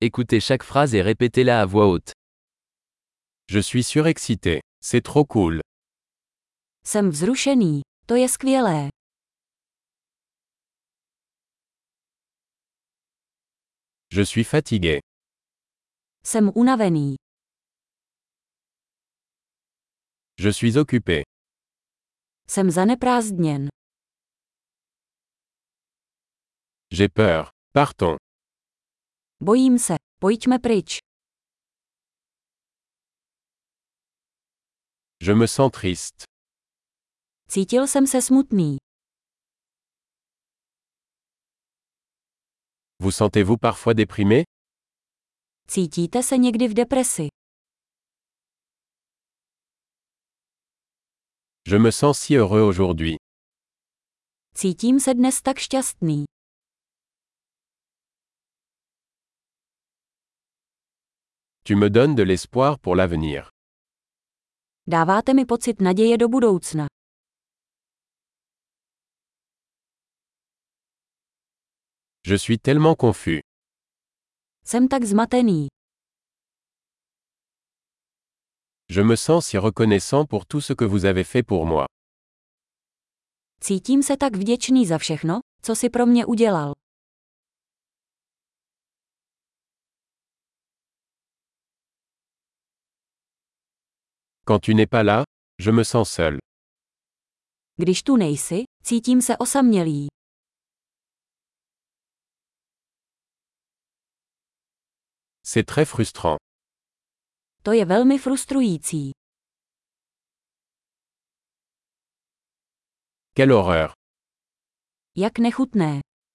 Écoutez chaque phrase et répétez-la à voix haute. Je suis surexcité. C'est trop cool. Jsem vzrušený. To je skvělé. Je suis fatigué. Jsem unavený. Je suis occupé. Jsem zaneprázdněn. J'ai peur. Partons. Bojím se. Pojďme pryč. Je me sens triste. Cítil jsem se smutný. Vous sentez-vous parfois déprimé? Cítíte se někdy v depresi? Je me sens si heureux aujourd'hui. Cítím se dnes tak šťastný. Tu me donnes de l'espoir pour l'avenir. Dáváte mi pocit naděje do budoucna. Je suis tellement confus. Jsem tak zmatený. Je me sens si reconnaissant pour tout ce que vous avez fait pour moi. Cítím se tak vděčný za všechno, co si pro mě udělal. Quand tu n'es pas là, je me sens seul. Když tu nejsi, cítím se osamělý. C'est très frustrant. To je velmi frustrující. Quelle horreur. Jak nechutné.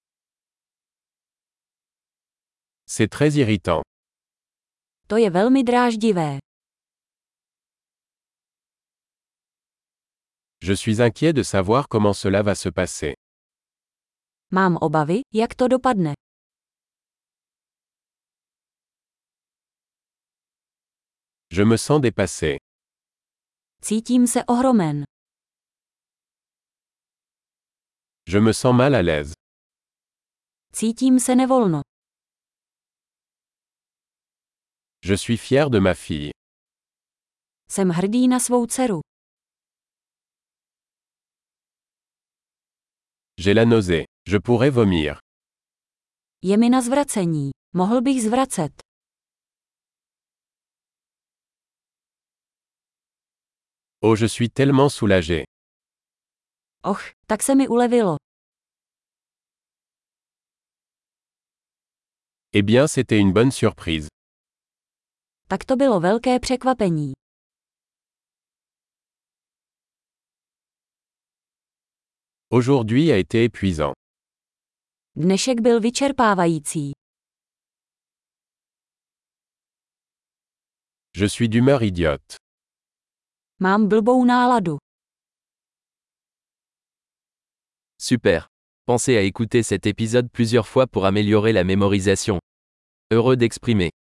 C'est très irritant. To je velmi dráždivé. Je suis inquiet de savoir comment cela va se passer. Mám obavy, jak to dopadne. Je me sens dépassé. Cítím se ohromen. Je me sens mal à l'aise. Cítím se nevolno. Je suis fier de ma fille. Jsem hrdý na svou dceru. J'ai la nausée. Je pourrais vomir. Je mi na zvracení. Mohl bych zvracet. Oh, je suis tellement soulagé. Och, tak se mi ulevilo. Eh bien, c'était une bonne surprise. Tak to bylo velké překvapení. Aujourd'hui a été épuisant. Dnešek byl vyčerpávající. Je suis d'humeur idiote. Mám blbou náladu. Super. Pensez à écouter cet épisode plusieurs fois pour améliorer la mémorisation. Heureux d'exprimer.